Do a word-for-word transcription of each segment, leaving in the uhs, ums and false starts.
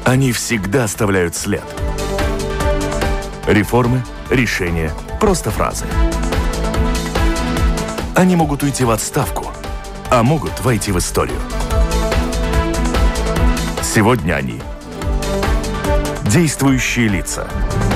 Они всегда оставляют след. Реформы, решения, просто фразы. Они могут уйти в отставку, а могут войти в историю. Сегодня они – действующие лица.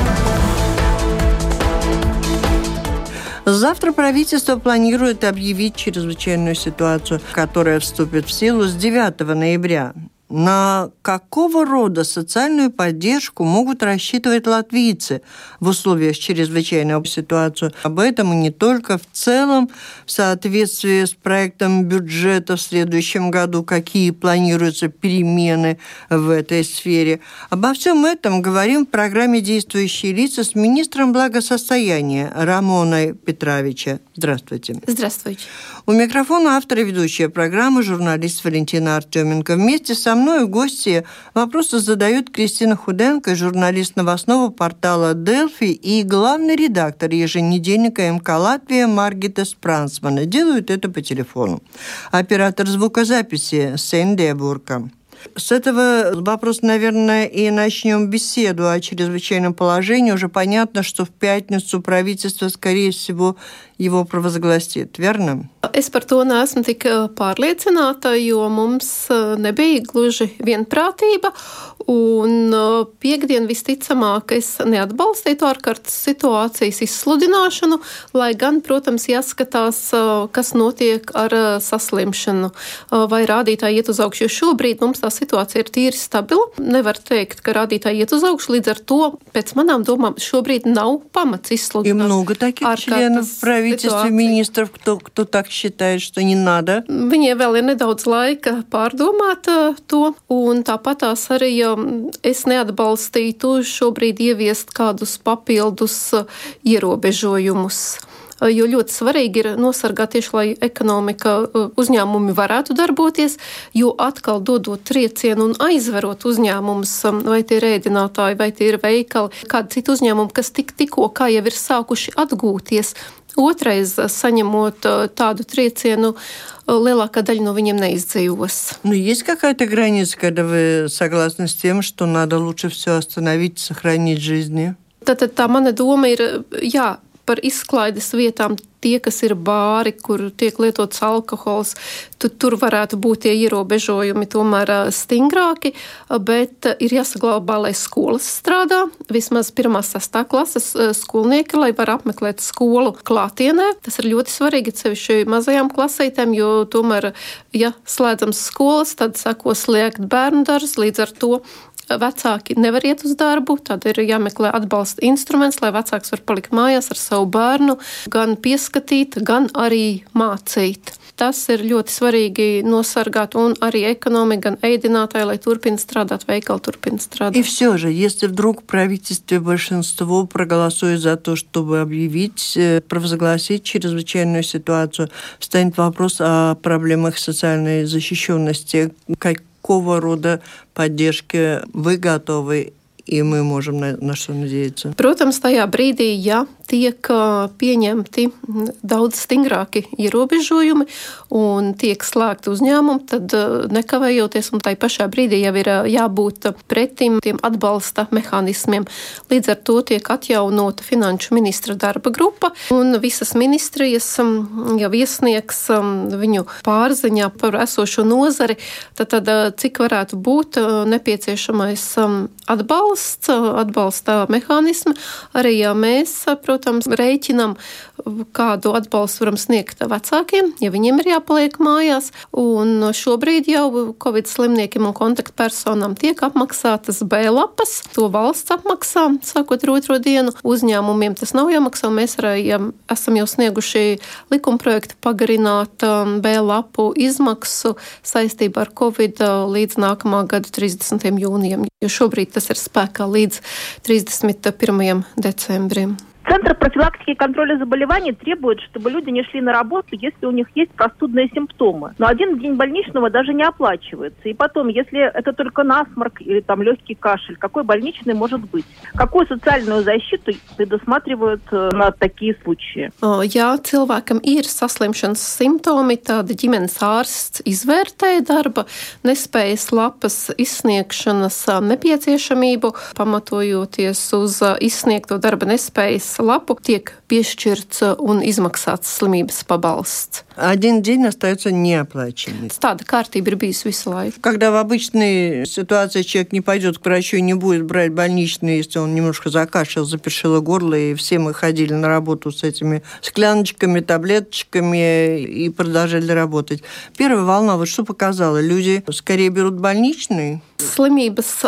Завтра правительство планирует объявить чрезвычайную ситуацию, которая вступит в силу с девятого ноября. На какого рода социальную поддержку могут рассчитывать латвийцы в условиях чрезвычайной ситуации? Об этом и не только. В целом, в соответствии с проектом бюджета в следующем году, какие планируются перемены в этой сфере. Обо всем этом говорим в программе «Действующие лица» с министром благосостояния Рамоной Петровича. Здравствуйте. Здравствуйте. У микрофона автор и ведущая программы, журналист Валентина Артеменко. Вместе со мной в гости вопросы задают Кристина Худенко, журналист новостного портала «Делфи» и главный редактор еженедельника эм ка «Латвия» Маргита Спрансмана. Делают это по телефону. Оператор звукозаписи Сендия Бурка. С этого вопроса, наверное, и начнем беседу о чрезвычайном положении. Уже понятно, что в пятницу правительство, скорее всего, его провозгласит, верно? Es par to neesmu tik pārliecināta, jo mums nebija gluži vienprātība, un piekdien visticamāk es neatbalstītu ārkārtas situācijas izsludināšanu, lai gan, protams, jāskatās, kas notiek ar saslimšanu, vai rādītāji iet uz augšu, jo šobrīd mums tā situācija ir tīri stabila. Nevar teikt, ka rādītāji iet uz augšu, līdz ar to, pēc manām domām, šobrīd nav pamats izsludināt. И много таких членов правительства, министров, кто, кто так считает, что не надо. Viņiem vēl ir nedaudz laika pārdomāt to, un tāpatās arī es neatbalstītu šobrīd ieviest kādus papildus ierobežojumus. Jo ļoti svarīgi ir nosargāt tieši, lai ekonomika uzņēmumi varētu darboties, jo atkal dodot triecienu un aizverot uzņēmumus, vai tie ir ēdinātāji, vai tie ir veikali, kādi citi uzņēmumi, kas tik, tikko kā jau ir sākuši atgūties. Otrais, saņemot tādu triecienu, lielākā daļa no viņiem neizdzīvos. Ну, есть какая-то граница, когда вы согласны с тем, что надо лучше все остановить, сохранить жизни? Tātad tā mana doma ir, jā, par izklaides vietām tie, kas ir bāri, kur tiek lietots alkohols, tu, tur varētu būt tie ierobežojumi tomēr stingrāki, bet ir jāsaglabā, lai skolas strādā, vismaz pirmā sastā klases skolnieki, lai var apmeklēt skolu klātienē. Tas ir ļoti svarīgi, sevišķi mazajām klasītēm, jo tomēr, ja slēdzams skolas, tad sako slēgt bērnu darbs, līdz ar to vecāki nevar iet uz darbu, tad ir jāmeklē atbalsta instruments, lai vecāks var palikt mājās ar savu bērnu, gan pieskatīt, gan arī mācīt. Tas ir ļoti svarīgi nosargāt, un arī ekonomika, gan ēdinātāji, lai turpina strādāt, veikali turpina strādāt. И все же, если вдруг в правительстве большинство проголосует за то, чтобы объявить, провозгласить чрезвычайную ситуацию, встанет вопрос о проблемах социальной защищенности. Какого рода поддержки вы готовы, и мы можем на, на что надеяться? Protams, tajā brīdī, ja tiek pieņemti daudz stingrāki ierobežojumi un tiek slēgti uzņēmumi, tad nekavējoties un tai pašā brīdī jau ir jābūt pretim tiem atbalsta mehānismiem. Līdz ar to tiek atjaunota finanšu ministra darba grupa un visas ministrijas jau iesniegs viņu pārziņā par esošo nozari, tad, tad cik varētu būt nepieciešamais atbalsts, atbalsta mehānismi. Arī ja mēs, protams, rēķinam, kādu atbalstu varam sniegt vecākiem, ja viņiem ir jāpaliek mājās. Un šobrīd jau Covid slimniekiem un kontaktpersonām tiek apmaksātas B lapas. To valsts apmaksā, sākot ar otro dienu. Uzņēmumiem tas nav jāmaksā. Mēs arī ja esam jau snieguši likumprojektu pagarināt B lapu izmaksu saistībā ar Covid līdz nākamā gada trīsdesmitajam jūnijam, jo šobrīd tas ir spēkā līdz trīsdesmit pirmajam decembrim. Центр профилактики и контроля заболеваний требует, чтобы люди не шли на работу, если у них есть простудные симптомы. Но один день больничного даже не оплачивается. И потом, если это только насморк или там легкий кашель, какой больничный может быть? Какую социальную защиту предусматривают на такие случаи? Ja cilvēkam ir saslimšanas simptomi, tad ģimenes ārsts izvērtē darba nespējas lapas izsniegšanas nepieciešamību, pamatojoties uz izsniegto darba nespējas lapu, tiek piešķirts un izmaksāts slimības pabalsts. Один день остается неоплаченным. Tāda kārtība ir bijusi visu laiku. Когда в обычной ситуации человек не пойдет к врачу и не будет брать больничный, если он немножко закашлял, запершило горло, и все мы ходили на работу с этими скляночками, таблеточками и продолжали работать. Первая волна, вот что показала? Люди скорее берут больничный. Slimības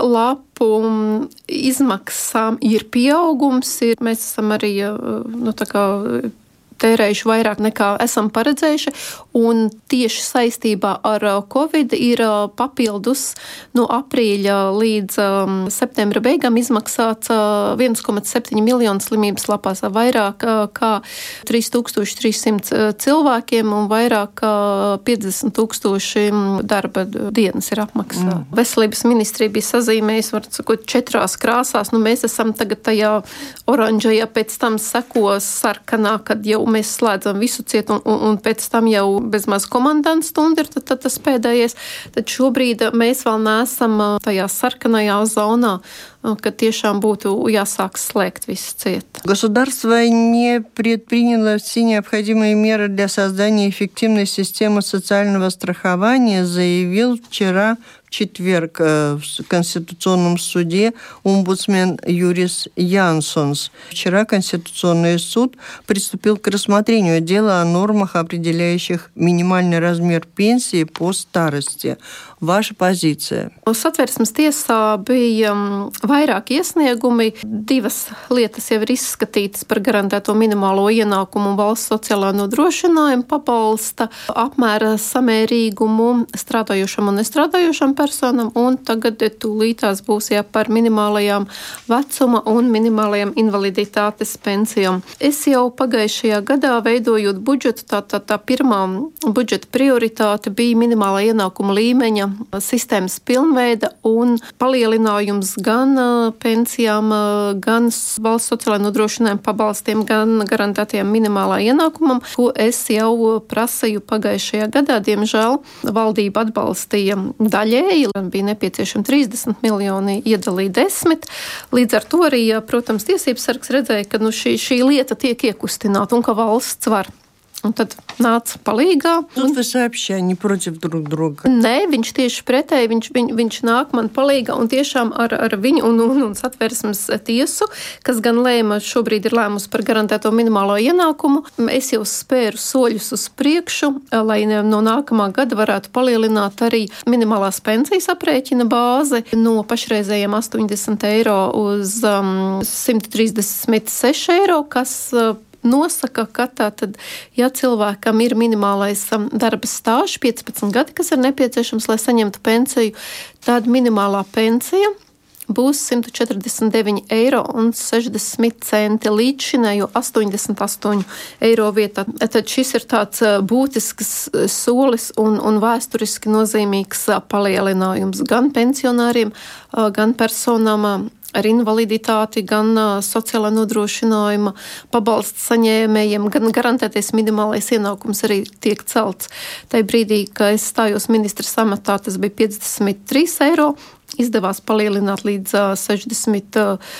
lapu izmaksām ir pieaugums. Ir, mēs esam arī nu, tā kā tērējuši vairāk nekā esam paredzējuši, un tieši saistībā ar Covid ir papildus no aprīļa līdz um, septembra beigām izmaksāts uh, viens komats septiņi miljonu slimības lapās, vairāk uh, kā trīs tūkstoši trīs simti cilvēkiem un vairāk kā piecdesmit tūkstoši darba dienas ir apmaksāta. Mm. Veselības ministrija bija sazīmējusi, var sakot, četrās krāsās. Nu, mēs esam tagad tajā oranžajā, pēc tam sekos sarkanā, kad jau mēs slēdzam visu cietu, un, un, un pēc tam jau bezmaz komandanta stunda ir tad, tad tas pēdējais. Tad šobrīd mēs vēl neesam tajā sarkanajā zonā, kad tiešām būtu jāsāk slēgt visu cietu. Государство не предприняло все необходимые меры для создания эффективной системы социального страхования, заявил вчера в четверг в Конституционном суде омбудсмен Юрис Янсонс. Вчера Конституционный суд приступил к рассмотрению дела о нормах, определяющих минимальный размер пенсии по старости. Ваша позиция? Satversmes tiesā bija vairāk iesniegumi. Divas lietas jau ir izskatītas par garantēto minimālo ienākumu un valsts sociālā nodrošinājuma pabalsta apmēra samērīgumu strādājošam un nestrādājošam personam, un tagad tūlītās būs jā par minimālajām vecuma un minimālajām invaliditātes pensijām. Es jau pagājušajā gadā veidojot budžetu, tā, tā, tā pirmā budžeta prioritāte bija minimālā ienākuma līmeņa sistēmas pilnveida un palielinājums gan pensijām, gan valsts sociālajā nodrošinājuma pabalstiem, gan garantētajam minimālā ienākumam, ko es jau prasīju pagājušajā gadā. Diemžēl valdība atbalstīja daļēji, bija nepieciešami trīsdesmit miljoni, iedalīja desmit. Līdz ar to arī, protams, tiesības sargs redzēja, ka nu, šī, šī lieta tiek iekustināta un ka valsts var. Un tad nāca palīgā. Тут вы сообща, не против друг друга. Nē, viņš tieši pretēji, viņš, viņ, viņš nāk man palīgā un tiešām ar, ar viņu un, un, un Satversmes tiesu, kas gan lēma, šobrīd ir lēmus par garantēto minimālo ienākumu. Es jau spēru soļus uz priekšu, lai no nākamā gada varētu palielināt arī minimālās pensijas aprēķina bāzi no pašreizējiem astoņdesmit eiro uz um, simt trīsdesmit seši eiro, kas uh, nosaka, ka tātad, ja cilvēkam ir minimālais darba stāžs, piecpadsmit gadi, kas ir nepieciešams, lai saņemtu pensiju, tad minimālā pensija būs simt četrdesmit deviņi eiro un sešdesmit centi līdz šinējo astoņdesmit astoņu eiro vietā. Tad šis ir tāds būtisks solis un, un vēsturiski nozīmīgs palielinājums gan pensionāriem, gan personām ar invaliditāti, gan uh, sociālā nodrošinājuma pabalsta saņēmējiem, gan garantētais minimālais ienākums arī tiek celts. Tajā brīdī, kad es stājos ministras amatā, tas bija piecdesmit trīs eiro, izdevās palielināt līdz uh, sešdesmit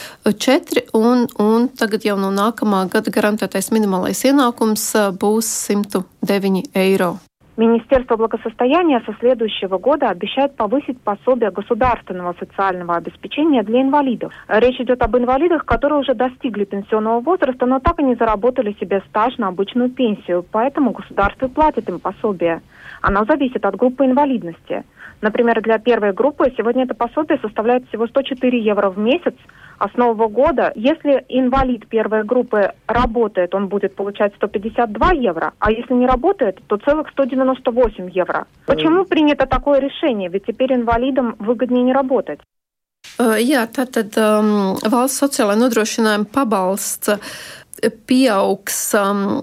četri, un, un tagad jau no nākamā gada garantētais minimālais ienākums uh, būs simt deviņi eiro. Министерство благосостояния со следующего года обещает повысить пособие государственного социального обеспечения для инвалидов. Речь идет об инвалидах, которые уже достигли пенсионного возраста, но так и не заработали себе стаж на обычную пенсию, поэтому государство платит им пособие. Оно зависит от группы инвалидности. Например, для первой группы сегодня это пособие составляет всего сто четыре евро в месяц, а с нового года, если инвалид первой группы работает, он будет получать сто пятьдесят два евро, а если не работает, то целых сто девяносто восемь евро. Почему принято такое решение? Ведь теперь инвалидам выгоднее не работать. Jā, tātad um, valsts sociālā nodrošinājuma pabalsts pieaugs,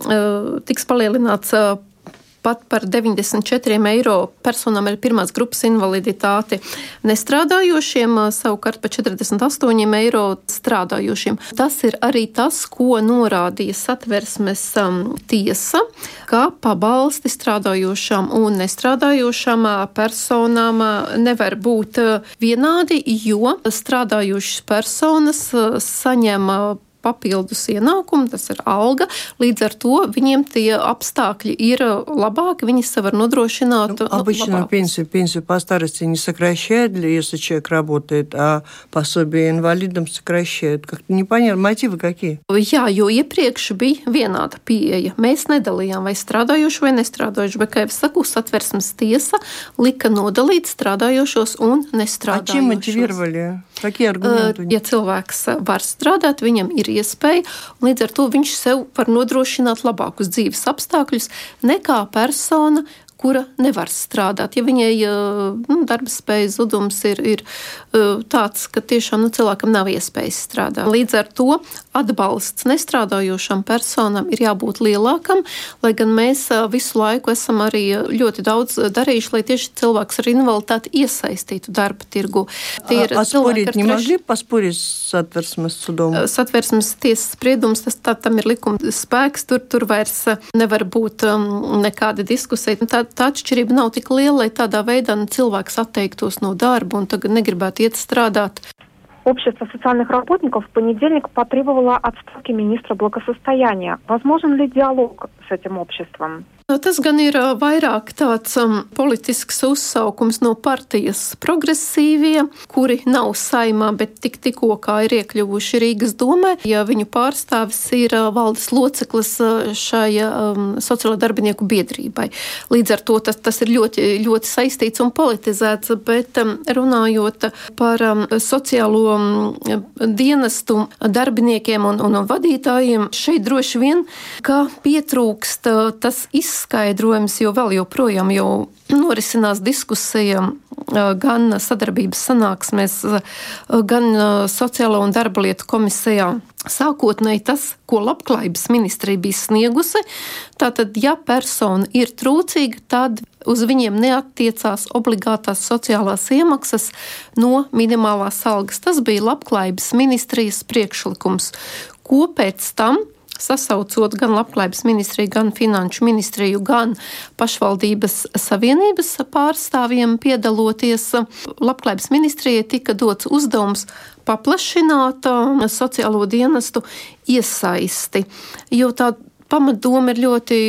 tiks palielināts pat par deviņdesmit četriem eiro personām ar pirmās grupas invaliditāti nestrādājošiem, savukārt par četrdesmit astoņiem eiro strādājošiem. Tas ir arī tas, ko norādīja Satversmes tiesa, ka pabalsti strādājošām un nestrādājošām personām nevar būt vienādi, jo strādājošas personas saņem papildus ienākumu, tas ir alga, līdz ar то viņiem tie apstāкļи ir labāки, viņi sev var нодrošināt. Ну, обычно пенсию, пенсию по старости не сокращают, если человек работает, а пособие инвалидам сокращают. Как-то непонятно, мотивы какие? Jā, jo iepriekš bija vienāda pieeja. Mēs nedalījām vai strādājoši vai nestrādājoši, bet, kā jau saku, Satversmes tiesa lika nodalīt strādājošos un nestrādājošos. А чем мотивировали? Какие аргументы? Ja cilvēks var strādāt, viņam ir iespēja, un līdz ar to viņš sev var nodrošināt labākus dzīves apstākļus nekā persona, kura nevar strādāt. Ja viņai nu, darba spējas zudums ir, ir tāds, ka tiešām nu, cilvēkam nav iespējas strādāt. Līdz ar to atbalsts nestrādājošām personām ir jābūt lielākam, lai gan mēs visu laiku esam arī ļoti daudz darījuši, lai tieši cilvēks ar invaliditāti iesaistītu darba tirgu. Tie ir а спорить не могли поспорить с Satversmes судом? Satversmes tiesas spriedums, tas tā, tam ir likuma spēks, tur, tur vairs nevar būt um, nekāda diskusija. Tā, tā atšķirība nav tik liela, lai tādā veidā cilvēks atteiktos no darba un tagad negribētu iet strādāt. Общество социальных работников в понедельник потребовало отставки министра благосостояния. Возможен ли диалог с этим обществом? Tas gan ir vairāk tāds um, politisks uzsaukums no partijas progresīvie, kuri nav saimā, bet tik tikko kā ir iekļuvuši Rīgas domē. Ja viņu pārstāvis ir uh, valdes loceklis uh, šai um, sociālo darbinieku biedrībai. Līdz ar to tas, tas ir ļoti, ļoti saistīts un politizēts, bet um, runājot par um, sociālo um, dienestu darbiniekiem un, un, un vadītājiem, šeit droši vien, ka pietrūkst uh, tas izskaidrojums, skaidrojums, jo vēl joprojām jau norisinās diskusija gan sadarbības sanāksmēs, gan Sociālo un darba lietu komisijā. Sākotnēji tas, ko Labklājības ministrija bija sniegusi, tātad, ja persona ir trūcīga, tad uz viņiem neattiecās obligātās sociālās iemaksas no minimālās algas. Tas bija Labklājības ministrijas priekšlikums, ko pēc tam sasaucot gan Labklājības ministriju, gan Finanšu ministriju, gan pašvaldības savienības pārstāvjiem piedaloties. Labklājības ministrijai tika dots uzdevums paplašināt sociālo dienestu iesaisti, jo tā pamatdoma ir ļoti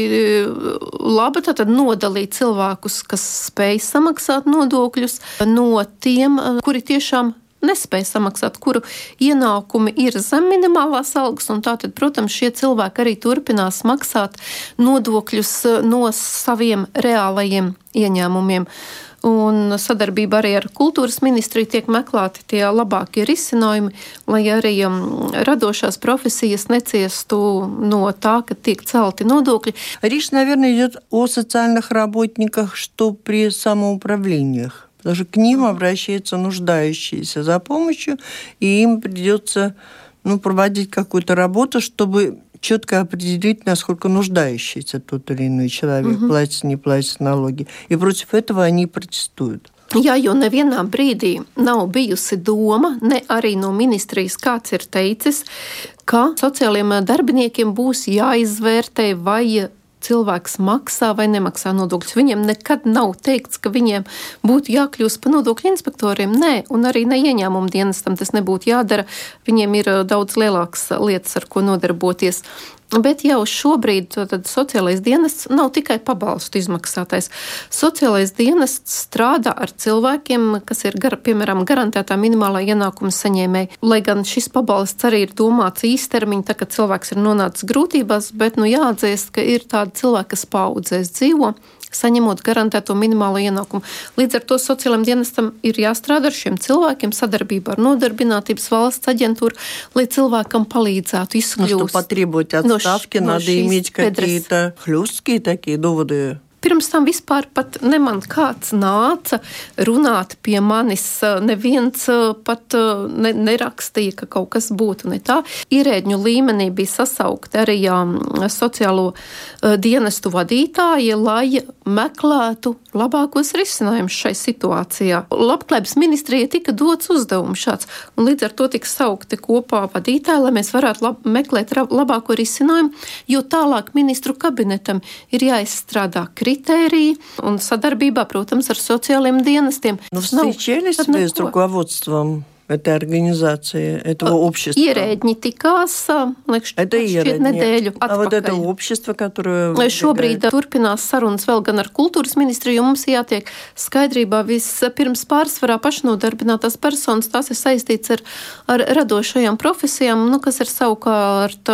laba, tātad nodalīt cilvēkus, kas spēj samaksāt nodokļus, no tiem, kuri tiešām nespēja samaksāt, kuru ienākumi ir zem minimālās algas, un tātad, protams, šie cilvēki arī turpinās maksāt nodokļus no saviem reālajiem ieņēmumiem. Un sadarbība arī ar kultūras ministriju tiek meklēti tie labākie risinājumi, lai arī um, radošās profesijas neciestu no tā, ka tiek celti nodokļi. Речь, наверное, идет о социальных работниках, что при самоуправлениях. Потому что к ним обращаются нуждающиеся за помощью, и им придется ну, проводить какую-то работу, чтобы четко определить, насколько нуждающийся тот или иной человек, угу. платит, не платит налоги. И против этого они протестуют. Jā, jo nevienā brīdī nav bijusi doma, ne arī no ministrijas kāds ir teicis, ka sociālajiem darbiniekiem būs jāizvērtē, vai cilvēks maksā vai nemaksā nodokļus. Viņiem nekad nav teikts, ka viņiem būtu jākļūst par nodokļu inspektoriem. Nē, un arī ne ieņēmumu dienestam tas nebūtu jādara. Viņiem ir daudz lielākas lietas, ar ko nodarboties. Bet jau šobrīd tad sociālais dienests nav tikai pabalstu izmaksātais. Sociālais dienests strādā ar cilvēkiem, kas ir, gar, piemēram, garantētā minimālā ienākuma saņēmēji. Lai gan šis pabalsts arī ir domāts īstermiņa, tā ka cilvēks ir nonācis grūtībās, bet nu jāatzīst, ka ir tādi cilvēki, kas paudzēs dzīvo, saņemot garantēto minimālo ienākumu. Līdz ar to sociālajiem dienestam ir jāstrādā ar šiem cilvēkiem sadarbībā ar Nodarbinātības valsts aģentūru, lai cilvēkam palīdzētu izkļūt. Ну, что потребовать отставки, no, надо no иметь какие-то хлесткие такие доводы. Pirms tam vispār pat ne man kāds nāca runāt pie manis, neviens pat ne, nerakstīja, ka kaut kas būtu ne tā. Ierēdņu līmenī bija sasaukti arī jā, sociālo dienestu vadītāji, lai meklētu labākos risinājumus šai situācijā. Labklājības ministrijai tika dots uzdevums šāds, un līdz ar to tika saukti kopā vadītāji, lai mēs varētu lab, meklēt labāko risinājumu, jo tālāk ministru kabinetam ir jāizstrādā критерии, un sadarbībā, protams, ar социальным dienestiem. Но встречались вы с руководством этой организации, этого общества? Ierēģi tikās, liekas, šķiet nedēļu atpakaļ. А вот это общество, которое... Šobrīd turpinās sarunas vēl gan ar kultūras ministriju, un mums jātiek skaidrībā vispirms pārsvarā pašnodarbinātās personas, tās ir saistīts ar, ar radošajām profesijām, nu, kas ir savukārt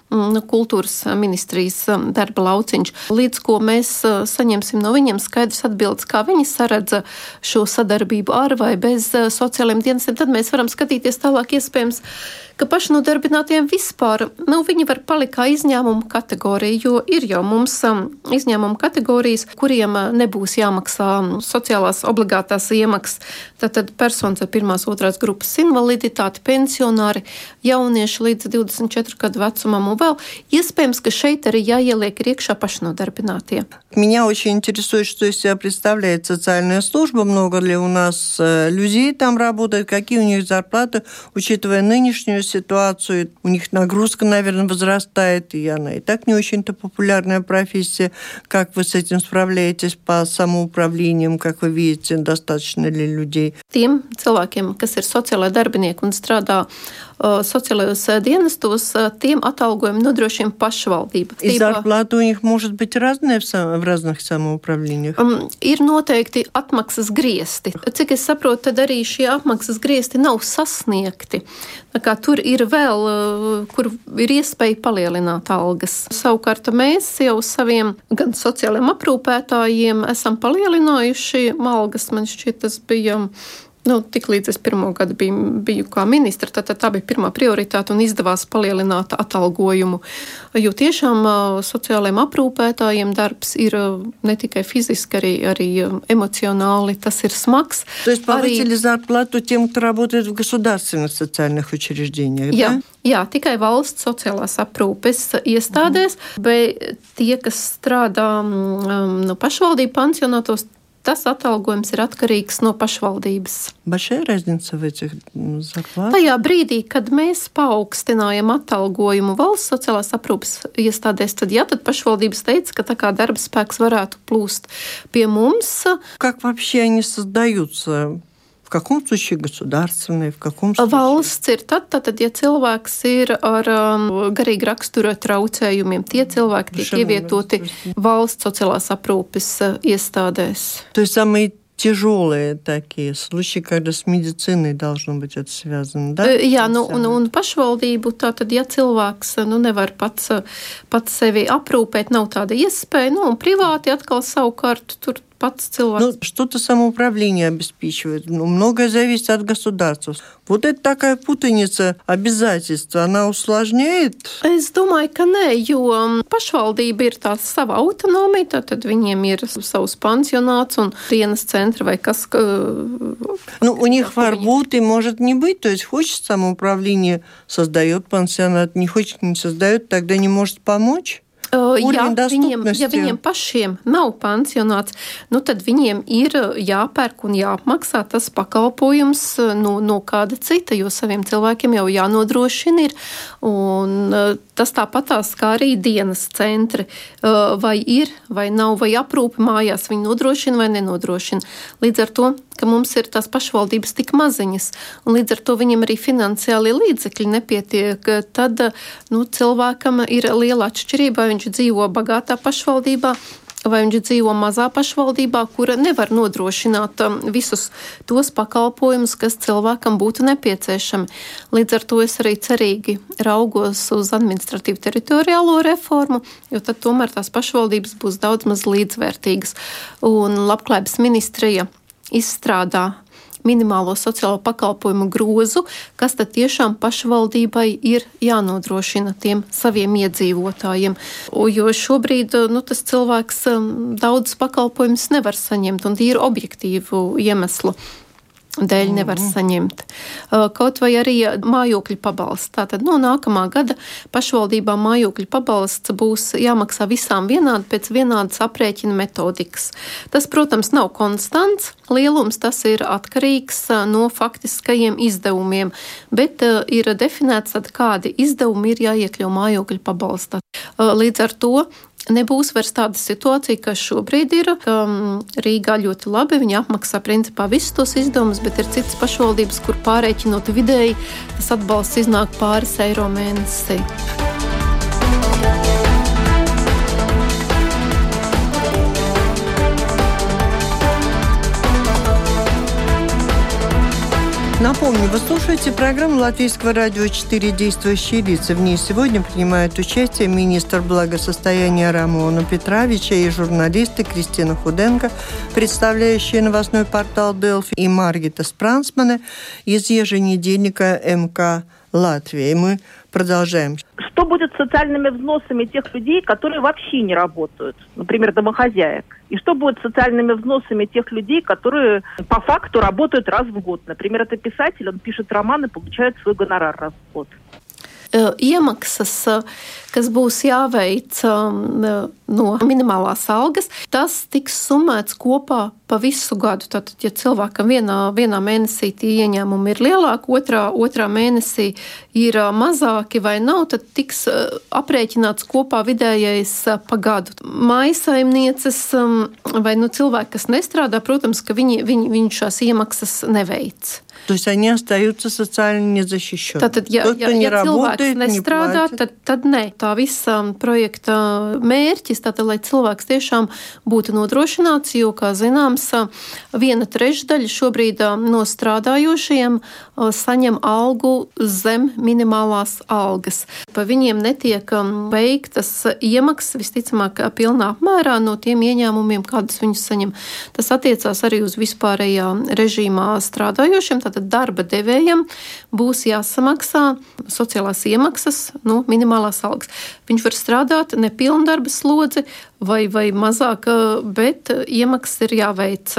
kultūras ministrijas darba lauciņš. Līdz ko mēs saņemsim no viņiem skaidrs atbildes, kā viņi saredza šo sadarbību ar vai bez sociālajiem dienestiem, tad mēs varam skatīties tālāk iespējams, ka pašnodarbinātiem vispār, nu, viņi var palikt kā izņēmuma kategorija, jo ir jau mums izņēmuma kategorijas, kuriem nebūs jāmaksā sociālās obligātās iemaksas. Tātad personas ar pirmās, otrās grupas invaliditāti, pensionāri, jaunieši līdz divdesmit četru gadu vecumam, un vēl iespējams, ka šeit arī jāieliek iekšā pašnodarbinātie. Меня очень интересует, что из себя представляет социальная служба, много ли у нас людей там работает, какие у них зарплаты, учитывая нынешнюю ситуацию, у них нагрузка, наверное, возрастает, и она и так не очень-то популярная профессия. Как вы с этим справляетесь по самоуправлениям, как вы видите, достаточно ли людей? Tiem cilvēkiem, kas ir sociālai darbinieki un strādā uh, sociālajos dienestos, tiem atalgojumi nodrošina pašvaldība. И зарплата у них может быть разная в, сам, в разных самоуправлениях? Um, ir noteikti atmaksas griesti. Cik es saprotu, tad arī šie atmaksas griesti nav sasniegti. Tā kā tur ir vēl, kur ir iespēja palielināt algas. Savukārt mēs jau saviem gan sociālajiem aprūpētājiem esam palielinājuši algas. Man šķiet, tas bija... Nu, tik līdz es pirmo gadu biju, biju kā ministra, tad tā bija pirmā prioritāte un izdevās palielināt atalgojumu. Jo tiešām sociālajiem aprūpētājiem darbs ir ne tikai fiziski, arī, arī эмоционāli, tas ir smags. То есть повысили зарплату тем, кто работает в государственных социальных учреждениях, jā, да? Jā, tikai valsts sociālās aprūpes iestādēs, mm. bet tie, kas strādā um, no pašvaldību pansionātos, tas atalgojums ir atkarīgs no pašvaldības. Большая разница в этих зарплатах? Tajā brīdī, kad mēs paaugstinājam atalgojumu valsts sociālās aprūpes iestādēs, tad jā, tad pašvaldības teica, ka tā kā darba spēks varētu plūst pie mums. Как вообще они создаются? В каком случае государственные, в каком случае? Valsts ir tad, tad, ja cilvēks ir ar um, garīgi rakstura traucējumiem, tie cilvēki tiek ievietoti valsts sociālās aprūpes iestādēs. То есть самые тяжелые такие случаи, когда с медициной должно быть это связано, да? Jā, nu, un, un pašvaldību, tātad, ja cilvēks nu, nevar pats, pats sevi aprūpēt, nav tāda iespēja, nu, un privāti atkal savukārt tur pats cilvēks. Ну, что-то самоуправление обеспечивает. Ну, многое зависит от государства. Вот это такая путаница обязательств, она усложняет? Es domāju, ka nē, jo pašvaldība ir tā sava autonomija, tad viņiem ir savs pansionāts un dienas centri vai kas... Ну, у них варбут и может не быть, то есть хочет самоуправление, создает пансионат, не хочет, не создает, тогда не может помочь? Ja viņiem, ja viņiem pašiem nav pansionāts, nu tad viņiem ir jāpērk un jāapmaksā tas pakalpojums no, no kāda cita, jo saviem cilvēkiem jau jānodrošina ir. Un tas tāpatās kā arī dienas centri. Vai ir, vai nav, vai aprūpe mājās viņi nodrošina vai nenodrošina. Līdz ar to, ka mums ir tās pašvaldības tik maziņas, un līdz ar to viņam arī finansiāli līdzekļi nepietiek, tad nu, cilvēkam ir liela atšķirība, vai viņš dzīvo bagātā pašvaldībā, vai viņš dzīvo mazā pašvaldībā, kura nevar nodrošināt visus tos pakalpojumus, kas cilvēkam būtu nepieciešami. Līdz ar to es arī cerīgi raugos uz administratīvu teritoriālo reformu, jo tad tomēr tās pašvaldības būs daudz maz līdzvērtīgas. Un Labklājības ministrija izstrādā minimālo sociālo pakalpojumu grozu, kas tad tiešām pašvaldībai ir jānodrošina tiem saviem iedzīvotājiem. Jo šobrīd nu, tas cilvēks daudz pakalpojumus nevar saņemt un tīri objektīvu iemeslu dēļ nevar saņemt. Kaut vai arī mājokļu pabalsts. Tātad no nākamā gada pašvaldībām mājokļu pabalsts būs jāmaksā visām vienādi pēc vienādas aprēķina metodikas. Tas, protams, nav konstants lielums, tas ir atkarīgs no faktiskajiem izdevumiem, bet ir definēts, tad, kādi izdevumi ir jāiekļau mājokļu pabalstā. Līdz ar to nebūs vairs tāda situācija, kas šobrīd ir, ka Rīgā ļoti labi, viņi apmaksā principā visus tos izdevumus, bet ir citas pašvaldības, kur pārēķinot vidēji, tas atbalsts iznāk pāris eiro mēnesī. Напомню, вы слушаете программу Латвийского радио четыре «Действующие лица». В ней сегодня принимают участие министр благосостояния Рамона Петровича и журналисты Кристина Худенко, представляющие новостной портал Делфи, и Маргита Спрансмане из еженедельника МК Латвии. Мы продолжаем. Что будет с социальными взносами тех людей, которые вообще не работают, например, домохозяек? И что будет с социальными взносами тех людей, которые по факту работают раз в год? Например, это писатель, он пишет роман и получает свой гонорар раз в год. Iemaksas, kas būs jāveic no minimālās algas, tas tiks summēts kopā pa visu gadu. Tātad, ja cilvēkam vienā, vienā mēnesī tie ieņēmumi ir lielāki, otrā, otrā mēnesī ir mazāki vai nav, tad tiks aprēķināts kopā vidējais pa gadu. Mājsaimnieces vai nu cilvēki, kas nestrādā, protams, ka viņi, viņi, viņi šās iemaksas neveic. То есть они остаются социально незащищенными. Tātad, ja, ja, ja cilvēks nestrādā, tad, tad nē. Tā visa projekta mērķis, tātad, lai cilvēks tiešām būtu nodrošināts, jo, kā zināms, viena trešdaļa šobrīd no strādājošiem saņem algu zem minimālās algas. Pa viņiem netiek veiktas iemaksas, visticamāk, pilnā apmērā no tiem ieņēmumiem, kādus viņus saņem. Tas attiecās arī uz vispārējā režīmā strādājošiem. Tātad darba devējam būs jāsamaksā sociālās iemaksas, nu, minimālās algas. Viņš var strādāt nepilnu darba slodzi vai, vai mazāk, bet iemaksas ir jāveic.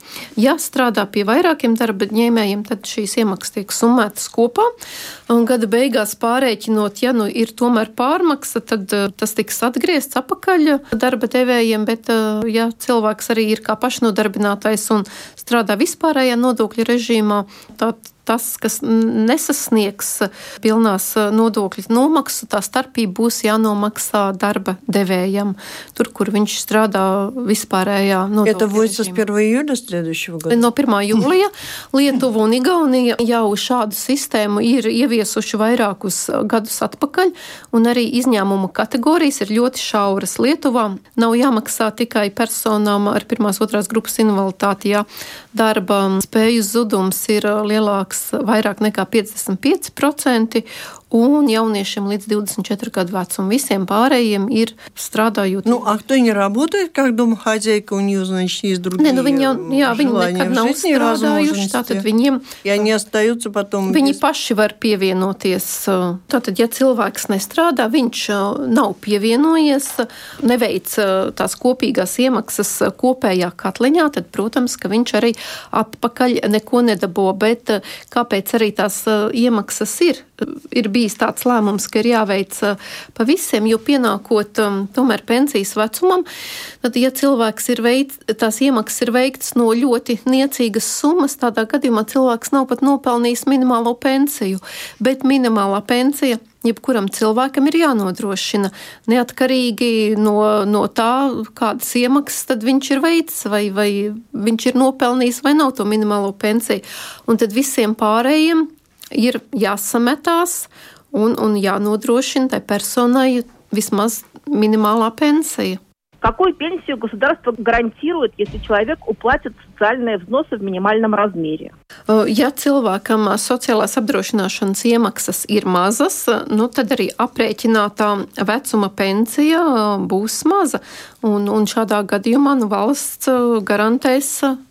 Ja strādā pie vairākiem darba ņēmējiem, tad šīs iemaksas tiek summētas kopā. Un gada beigās pārēķinot, ja nu ir tomēr pārmaksa, tad tas tiks atgriezts apakaļ darba devējiem, bet ja cilvēks arī ir kā pašnodarbinātais un strādā vispārējā nodokļu režīmā, tad tas, kas nesasniegs pilnās nodokļu nomaksu, tā starpība būs jānomaksā darba devējam, tur, kur viņš strādā vispārējā nodokļu Это будет režīmā. с первого июля следующего года? No pirmā jūlija Lietuva un Igaunija jau šādu sistēmu ir ieviesuši vairākus gadus atpakaļ, un arī izņēmuma kategorijas ir ļoti šauras. Lietuvā nav jāmaksā tikai personām ar pirmās otrās grupas invaliditāti, ja darba spēju zudums ir lielāks vairāk nekā piecdesmit pieci procenti, un jauniešiem līdz двадцать четыре gadu vecumu. Visiem pārējiem ir strādājot. Ну, а кто не работает как домохозяйка, у нее, значит, есть другие ne, nu, viņi, jau, jā, viņi nekad nav strādājuši, tātad viņiem, и они остаются потом... viņi без... paši var pievienoties. Tātad, ja cilvēks nestrādā, viņš nav pievienojies, neveic tās kopīgās iemaksas kopējā katliņā, tad, protams, ka viņš arī atpakaļ neko nedabo, bet kāpēc arī tās iemaksas ir? Ir bijis tāds lēmums, ka ir jāveic pa visiem, jo pienākot um, tomēr pensijas vecumam, tad, ja cilvēks ir veids, tās iemaksas ir veikts no ļoti niecīgas summas, tādā gadījumā cilvēks nav pat nopelnījis minimālo pensiju, bet minimālā pensija jebkuram cilvēkam ir jānodrošina neatkarīgi no, no tā, kādas iemaksas tad viņš ir veicis, vai, vai viņš ir nopelnījis vai nav to minimālo pensiju. Un tad visiem pārējiem ir jāsametās un, un jānodrošina tai personai vismaz minimālā pensija. Какую пенсию государство гарантирует, если человек уплатит социальные взносы в минимальном размере? Ja cilvēkam sociālās apdrošināšanas iemaksas ir mazas, nu, tad arī aprēķinātā vecuma pensija būs maza. Un, un šādā gadījumā nu, valsts garantēs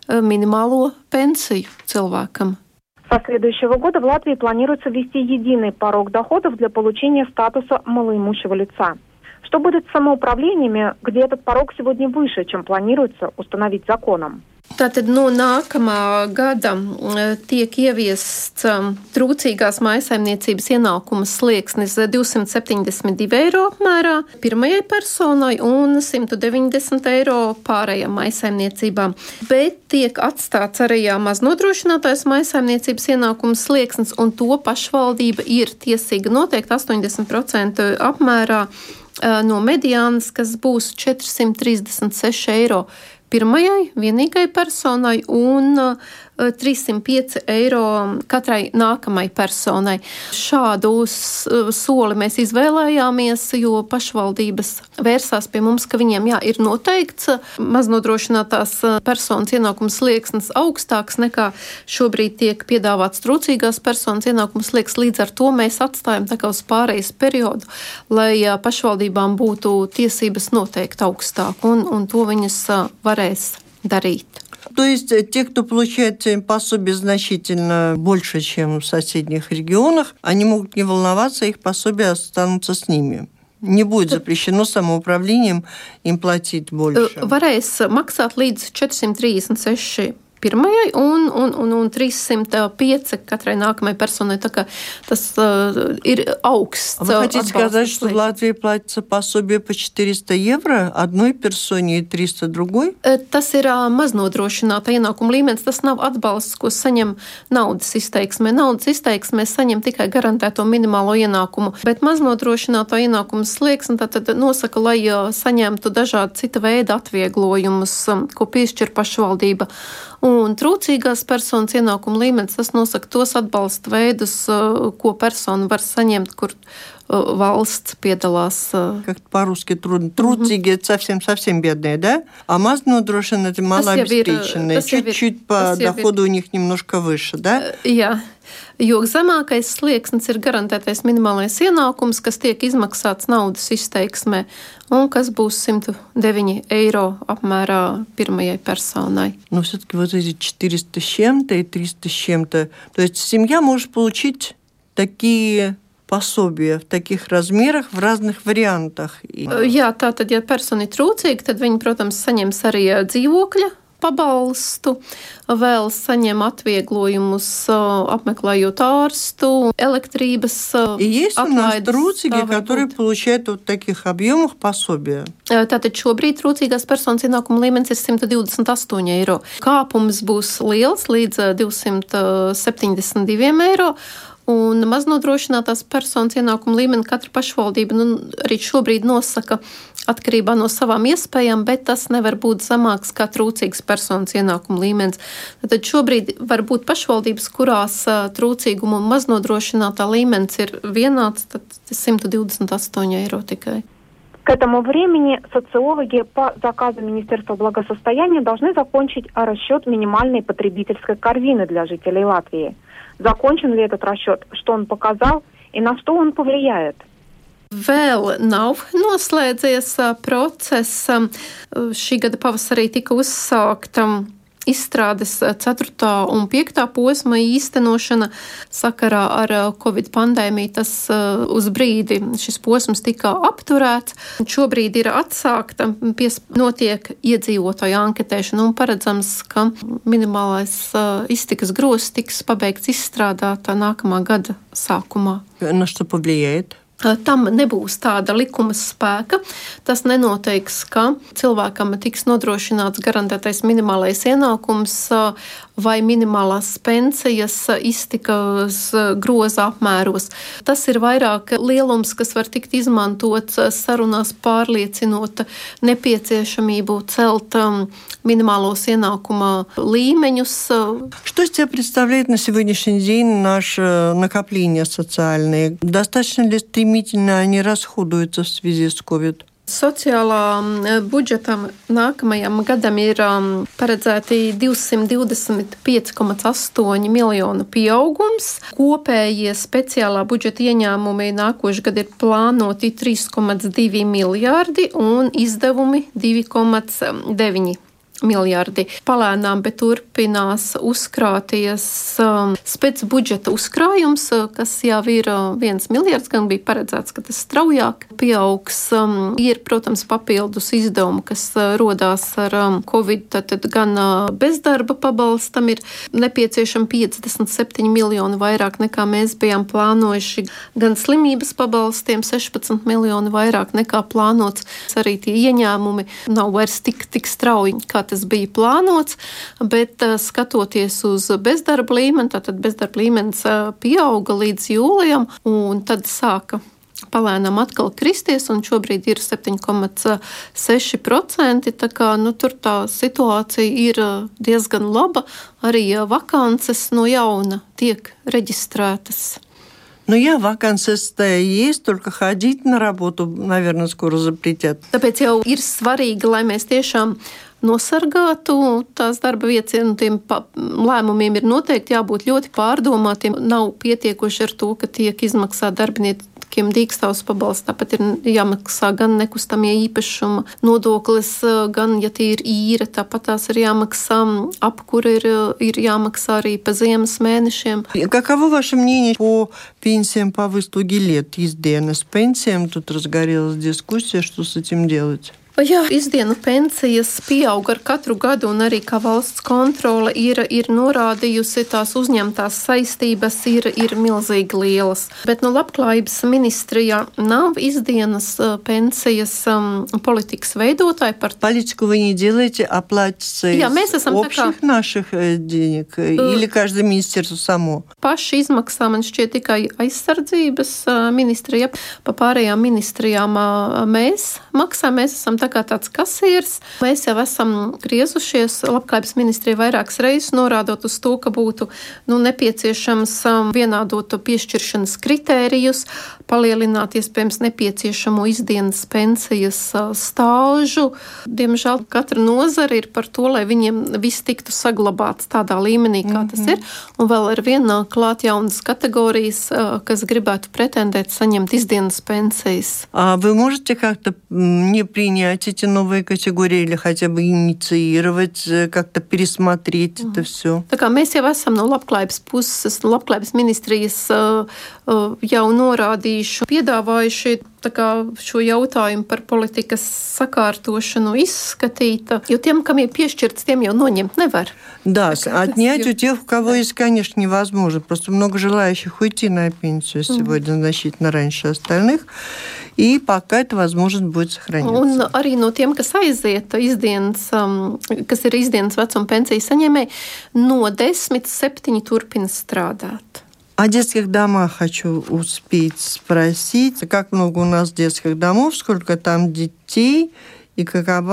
minimālo pensiju cilvēkam. Со следующего года в Латвии планируется ввести единый порог доходов для получения статуса малоимущего лица. Что будет с самоуправлениями, где этот порог сегодня выше, чем планируется установить законом? Tātad no nākamā gada tiek ieviests trūcīgās mājsaimniecības ienākuma slieksnis divsimt septiņdesmit divi eiro apmērā pirmajai personai un simt deviņdesmit eiro pārējām mājsaimniecībām. Bet tiek atstāts arī maznodrošinātais mājsaimniecības ienākuma slieksnis, un to pašvaldība ir tiesīga noteikt astoņdesmit procenti apmērā no mediānas, kas būs četrsimt trīsdesmit seši eiro pirmajai vienīgai personai un trīssimt pieci eiro katrai nākamai personai. Šādu soli mēs izvēlējāmies, jo pašvaldības vērsās pie mums, ka viņiem jā, ir noteikts maznodrošinātās personas ienākums slieksnis augstāks nekā šobrīd tiek piedāvāts trūcīgās personas ienākums slieksnis. Līdz ar to mēs atstājam tā kā uz pārejas periodu, lai pašvaldībām būtu tiesības noteikt augstāk, un, un to viņas varēs darīt. То есть те, кто получает пособие значительно больше, чем в соседних регионах, они могут не волноваться, их пособия останутся с ними. Не будет запрещено самоуправлением им платить больше. Varēs maksāt līdz četrsimt trīsdesmit seši pirmajai un, un, un, un trīssimt pieci katrai nākamajai personai. Tā kā tas uh, ir augsts. Вы хотите сказать, что в Латвии платится пособие по четыреста евро одной персоне и триста другой? Tas ir uh, maznodrošināta ienākuma līmenis. Tas nav atbalsts, ko saņem naudas izteiksmē. Naudas izteiksmē saņem tikai garantēto minimālo ienākumu, bet maznodrošināto ienākumu slieksni tad nosaka, lai uh, saņemtu dažādi cita veida atvieglojumus, um, ko piešķir pašvaldība. Un trūcīgās personas ienākuma līmenis, tas nosaka tos atbalsta veidus, ko persona var saņemt, kur valsts piedalās. Как-то по-русски трудно. Трудzīgie mm-hmm. совсем-совсем бедные, да? А мазнодрошенные – это малообеспеченные. Чуть-чуть по доходу у них немножко выше, да? Jā. Jo zemākais slieksnis ir garantētais minimālais ienākums, kas tiek izmaksāts naudas izteiksmē, un kas būs simt deviņi eiro apmērā pirmajai personai. Но все-таки вот эти четыреста с чем-то и триста с чем-то. То есть семья может получить такие пособия в таких размерах, в разных вариантах. Jā, tātad, ja persona ir trūcīga, tad viņi, protams, saņems arī dzīvokļa pabalstu, vēl saņem atvieglojumus, apmeklējot ārstu, elektrības И есть у нас трūcīgie, которые получают вот таких объемах пособия. Tātad šobrīd trūcīgās personas ienākuma līmenis ir simt divdesmit astoņi eiro. Kāpums būs liels līdz divsimt septiņdesmit divi eiro. Un maznodrošinātās personas ienākuma līmeni katra pašvaldība nu, arī šobrīd nosaka atkarībā no savām iespējām, bet tas nevar būt zemāks kā trūcīgas personas ienākuma līmenis. Tad šobrīd var būt pašvaldības, kurās trūcīguma un maznodrošinātā līmenis ir vienāds, tad simt divdesmit astoņi eiro tikai. К этому времени социологи по заказу Министерства благосостояния должны закончить расчет минимальной потребительской корзины для жителей Латвии. Закончен ли этот расчет, что он показал и на что он повлияет? Vēl nav noslēdzies process. Šī gada pavasarī tika uzsākta izstrādes ceturtā un piektā posma īstenošana sakarā ar Covid pandēmiju. Tas uz brīdi šis posms tika apturēts. Šobrīd ir atsākta, pies, notiek iedzīvotāju anketēšana un paredzams, ka minimālais iztikas grozs tiks pabeigts izstrādāt nākamā gada sākumā. На что повлияет? Tam nebūs tāda likuma spēka. Tas nenoteiks, ka cilvēkam tiks nodrošināts garantētais minimālais ienākums vai minimālās pensijas iztikas groza apmēros. Tas ir vairāk lielums, kas var tikt izmantots sarunās pārliecinot nepieciešamību celt минималос иенакума līmeņus. Что из себя представляет на сегодняшний день наше накопление социальное? Достаточно ли стремительно они расходуются в связи с ковид? Sociālā budžetam nākamajam gadam ir um, paredzēti divsimt divdesmit pieci komā astoņi miljonu pieaugums. Kopējie speciālā budžeta ieņēmumi nākošais gadu ir plānoti trīs komā divi miljārdi un izdevumi divi komā deviņi miljardi. Palēnām, bet turpinās uzkrāties um, spēc budžeta uzkrājums, kas jau ir uh, viens miljards, gan bija paredzēts, ka tas straujāk pieaugs. Um, ir, protams, papildus izdevumi, kas uh, rodās ar um, Covid, tad, tad gan uh, bezdarba pabalstam ir nepieciešami piecdesmit septiņi miljoni vairāk nekā mēs bijām plānojuši, gan slimības pabalstiem sešpadsmit miljoni vairāk nekā plānots. Arī tie ieņēmumi nav vairs tik, tik strauji, kā tas bija plānots, bet uh, skatoties uz bezdarba līmeni, tātad bezdarba līmenis uh, pieauga līdz jūlijam, un tad sāka palēnām atkal kristies, un šobrīd ir septiņi komats seši procenti, tā kā nu, tur tā situācija ir diezgan laba, arī vakances no jauna tiek reģistrētas. Ну, я вакансия-то есть, только ходить на работу, наверное, скоро запретят. Tāpēc jau ir svarīgi, lai mēs tiešām nosargātu tās darba vietas, un tiem lēmumiem ir noteikti jābūt ļoti pārdomātiem. Nav pietiekoši ar to, ka tiek izmaksāt darbiniekiem dīkstāvs pabalsts, tāpat ir jāmaksā gan nekustamie īpašuma nodoklis, gan, ja tie ir īre, tāpat tās ir jāmaksā, apkura ir, ir jāmaksā arī pa ziemas mēnešiem. Каково ваше мнение по пенсиям по выслуге лет? Издена с пенсиям, тут разгорелась дискуссия, что с этим делать? Jā, izdienu pensijas pieaug ar katru gadu, un arī kā valsts kontrole ir, ir norādījusi, tās uzņemtās saistības ir, ir milzīgi lielas. Bet no labklājības ministrijā nav izdienas pensijas um, politikas veidotāji par... Политику вы не делаете, а платится Jā, из общих kā... наших денег? Uh, Или каждое министерство само? Paši izmaksā, man šķiet, tikai aizsardzības ministrija. Pa pārējām ministrijām mēs maksājam, mēs esam tā kā tāds kasieris. Mēs jau esam griezušies labklājības ministrija vairākas reizes, norādot uz to, ka būtu nu, nepieciešams vienādot piešķiršanas kritērijus, palielināt iespējams nepieciešamo izdienas pensijas stāžu. Diemžēl katra nozara ir par to, lai viņiem viss tiktu saglabāts tādā līmenī, kā mm-hmm. tas ir. Un vēl ar vienu klāt jaunas kategorijas, kas gribētu pretendēt saņemt izdienas pensijas. А вы можете как-то не принять эти новые категории или хотя бы инициировать, как-то пересмотреть mm. это все? Tā kā mēs jau esam no labklājības puses, no labklājības ministrijas jau norādījuši, piedāvājuši tā kā šo jautājumu par politikas sakārtošanu izskatīt, jo tiem, kam ir piešķirts, tiem jau noņemt nevar. Да, отнять у тех, у кого есть, конечно, невозможно. Просто много желающих уйти на пенсию сегодня значительно раньше остальных, и пока это возможность будет сохраняться. Un arī no tiem, kas aiziet izdienas, kas ir izdienas vecuma pensijas saņēmēji, no desmit septiņi turpina strādāt. О детских домах хочу успеть спросить, как много у нас детских домов, сколько там детей и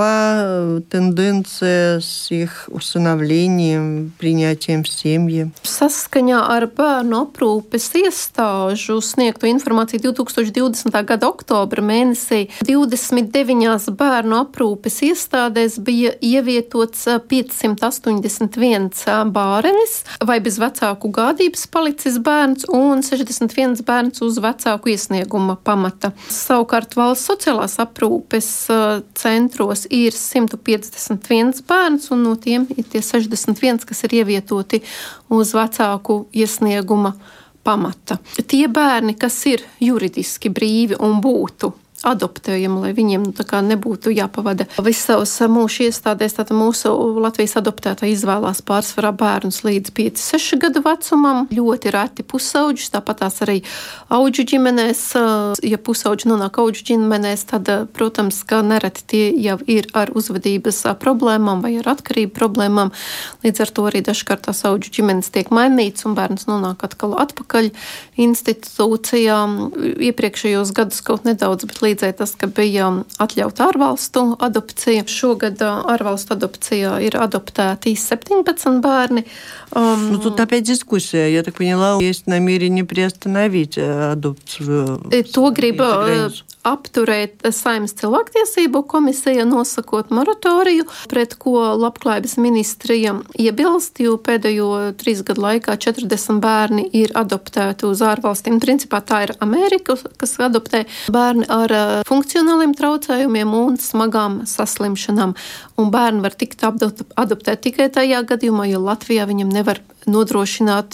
какова tendенция с их усыновлением, принятием в семьи. Saskaņā ar bērnu aprūpes iestāžu sniegto informāciju divtūkstoš divdesmitā gada oktobra mēnesī divdesmit deviņās bērnu aprūpes iestādēs bija ievietots piecsimt astoņdesmit viens bārenis vai bez vecāku gādības palicis bērns un sešdesmit viens bērns uz vecāku iesnieguma pamata. Savukārt valsts sociālās aprūpes centros ir simt piecdesmit viens bērns, un no tiem ir tie sešdesmit viens, kas ir ievietoti uz vecāku iesnieguma pamata. Tie bērni, kas ir juridiski brīvi un būtu adoptējami, lai viņiem nu, tā kā nebūtu jāpavada visu savus mūžu iestādēs. Tātad mūsu Latvijas adoptētā izvēlās pārsvarā bērnus līdz pieci seši gadu vecumam, ļoti reti pusauģus, tāpat tās arī auģu ģimenēs. Ja pusauģi nonāk auģu ģimenēs, tad, protams, ka nereti tie jau ir ar uzvedības problēmām vai ar atkarību problēmām. Līdz ar to arī dažkārt tās auģu ģimenes tiek mainīts un bērns nonāk atkal atpakaļ institūcijām. Iepriekšējos gadus kaut nedaudz, bet līdzēja tas, ka bija atļauta ārvalstu adopcija. Šogad ārvalstu adopcijā ir adoptēti septiņpadsmit bērni. Um, ну, тут опять дискуссия. Я так поняла, есть намерение приостановить адопцию. To grib apturēt Saeimas cilvēktiesību komisija, nosakot moratoriju, pret ko labklājības ministrija iebilst, jo pēdējo trīs gadu laikā četrdesmit bērni ir adoptēti uz ārvalstīm. Principā tā ir Amerika, kas adoptē bērni ar funkcionāliem traucējumiem un smagām saslimšanām. Un bērni var tikt adoptēti tikai tajā gadījumā, jo Latvijā viņam nevar nodrošināt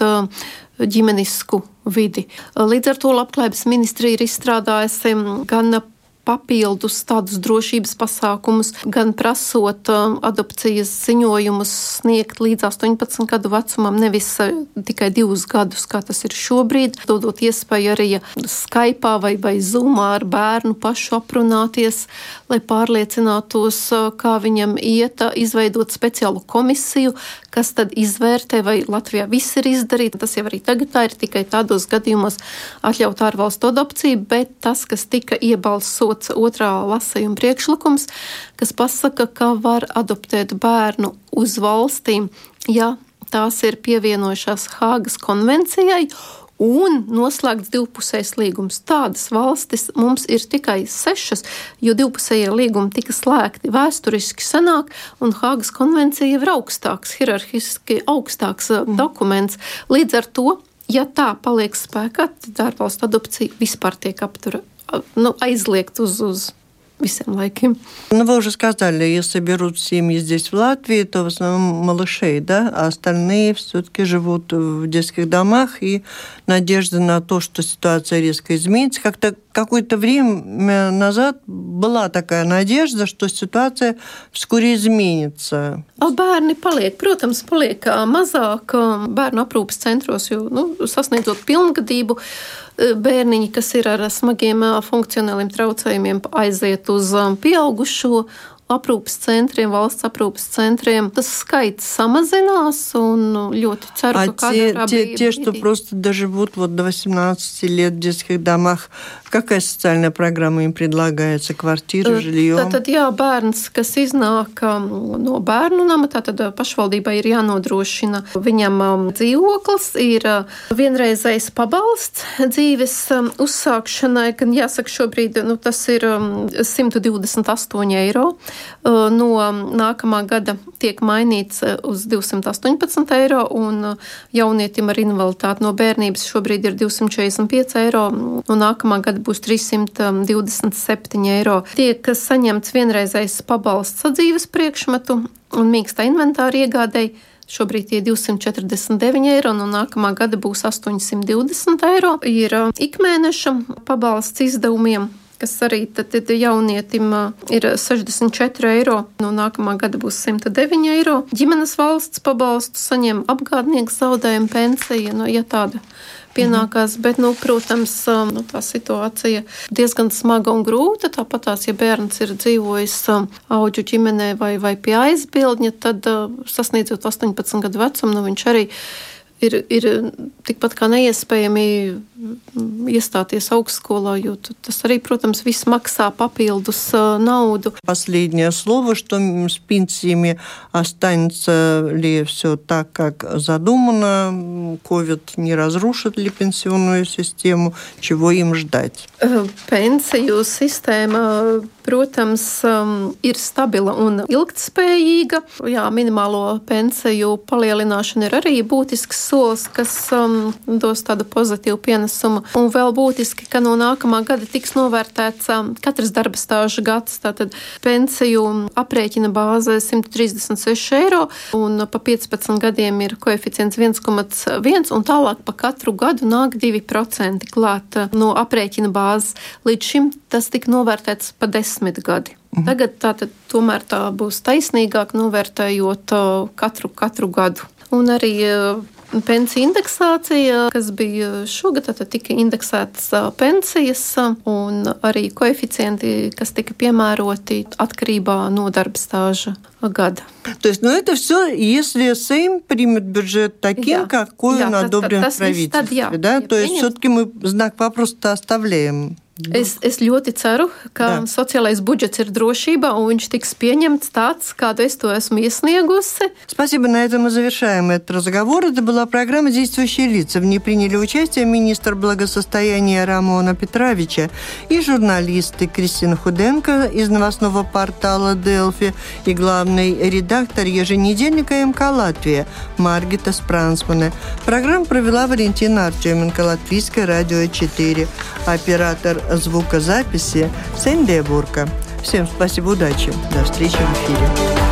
ģimenisku vidi. Līdz ar to Labklājības ministrija ir izstrādājusi gan papildus tādus drošības pasākumus, gan prasot uh, adopcijas ziņojumus sniegt līdz astoņpadsmit gadu vecumam, nevis uh, tikai divus gadus, kā tas ir šobrīd, dodot iespēju arī Skype'ā vai, vai Zoom'ā ar bērnu pašu aprunāties, lai pārliecinātos, uh, kā viņam iet, uh, izveidot speciālu komisiju, kas tad izvērtē, vai Latvijā viss ir izdarīts. Tas jau arī tagad tā ir tikai tādos gadījumos atļaut ārvalstu adopciju, bet tas, kas tika iebalsots otrā lasījuma priekšlikums, kas pasaka, ka var adoptēt bērnu uz valstīm, ja tās ir pievienojušās Hāgas konvencijai un noslēgts divpusējs līgums. Tādas valstis mums ir tikai sešas, jo divpusējie līgumi tika slēgti vēsturiski senāk, un Hāgas konvencija ir augstāks, hierarhiski augstāks mm. dokuments. Līdz ar to, ja tā paliek spēkā, tad ārvalstu adopcija vispār tiek apturēta. Ну, aizliegt uz, uz visiem laikiem. Ну, вы уже сказали, если берут семьи здесь, в Латвии, то в основном малышей, да, а остальные все-таки живут в детских домах, и надежда на то, что ситуация резко изменится. Как-то какое-то время назад была такая надежда, что ситуация вскоре изменится. Bērni paliek, protams, paliek mazāk bērnu aprūpes centros, jo, nu, sasniedzot pilngadību, bērniņi, kas ir ar smagiem funkcionāliem traucējumiem, aiziet uz pieaugušo aprūpes centriem, valsts aprūpes centriem. Tas skaits samazinās un ļoti ceru, а ka те, kādā те, те, что просто доживут вот до восемнадцати лет в детских домах, какая социальная программа им предлагается? Квартира, жилье? Tātad, jā, bērns, kas iznāk no bērnu nama, tātad pašvaldībai ir jānodrošina viņam dzīvoklis, ir vienreizējs pabalsts dzīves uzsākšanai, gan jāsaka šobrīd, nu, tas ir simt divdesmit astoņi eiro. No nākamā gada tiek mainīts uz divsimt astoņpadsmit eiro, un jaunietim ar invaliditāti no bērnības šobrīd ir divsimt četrdesmit pieci eiro, un nākamā gada būs trīssimt divdesmit septiņi eiro. Tiek saņemts vienreizējs pabalsts sadzīves priekšmetu un mīkstā inventāra iegādēji. Šobrīd tie divsimt četrdesmit deviņi eiro, un nākamā gada būs astoņsimt divdesmit eiro. Ir ikmēneša pabalsts izdevumiem, kas arī tad jaunietim ir sešdesmit četri eiro, no nākamā gada būs simt deviņi eiro. Ģimenes valsts pabalstu saņem apgādnieks zaudējuma pensija, nu, ja tāda pienākās, bet, nu, protams, nu, tā situācija diezgan smaga un grūta. Tāpatās, ja bērns ir dzīvojis auģu ģimenē vai, vai pie aizbildņa, tad sasniedzot astoņpadsmit gadu vecumu, nu, viņš arī ir, ir tikpat kā neiespējami iestāties augstskolā, jo tas arī, protams, viss maksā papildus nauду. Последнее слово, что с пенсиями останется ли все так, как задумано, ковид не разрушит ли пенсионную систему, чего им ждать? Pensiju sistēma, protams, ir stabila un ilgtspējīga. Jā, minimālo pensiju palielināšana ir arī būtisks solis, kas um, dos tādu pozitīvu pienesumu. Un vēl būtiski, ka no nākamā gada tiks novērtēts um, katrs darba stāža gads. Tātad pensiju aprēķina bāze simt trīsdesmit seši eiro, un pa piecpadsmit gadiem ir koeficients viens komats viens, un tālāk pa katru gadu nāk divi procenti klāt no aprēķina bāzes. Līdz šim tas tika novērtēts pa desmit gadi. Mhm. Tagad tātad tomēr tā būs taisnīgāk novērtējot uh, katru, katru gadu. Un arī uh, pensiju indeksācija, kas bija šogad, tad tika indeksētas pensijas un arī koeficienti, kas tika piemēroti atkarībā no darba stāžа gada. То есть, ну, это все, если Сейм примет бюджет таким, jā, какой jā, он одобрен в правительстве, да? То есть, все-таки мы знак вопроса оставляем. Es, es ļoti ceru, ka Jā. Sociālais budžets ir drošībā, un viņš tiks pieņemts tāds, kādu es to esmu iesniegusi. Спасибо. На этом мы завершаем этот разговор. Это была программа «Действующие лица». В ней приняли участие министр благосостояния Рамона Петровича и журналисты Кристина Худенко из новостного портала «Делфи» и главный редактор еженедельника МК «Латвия» Маргита Спрансмане. Программу провела Валентина Артеменко, Латвийское радио четыре. Оператор звукозаписи Сендия Бурка. Всем спасибо, удачи. До встречи в эфире.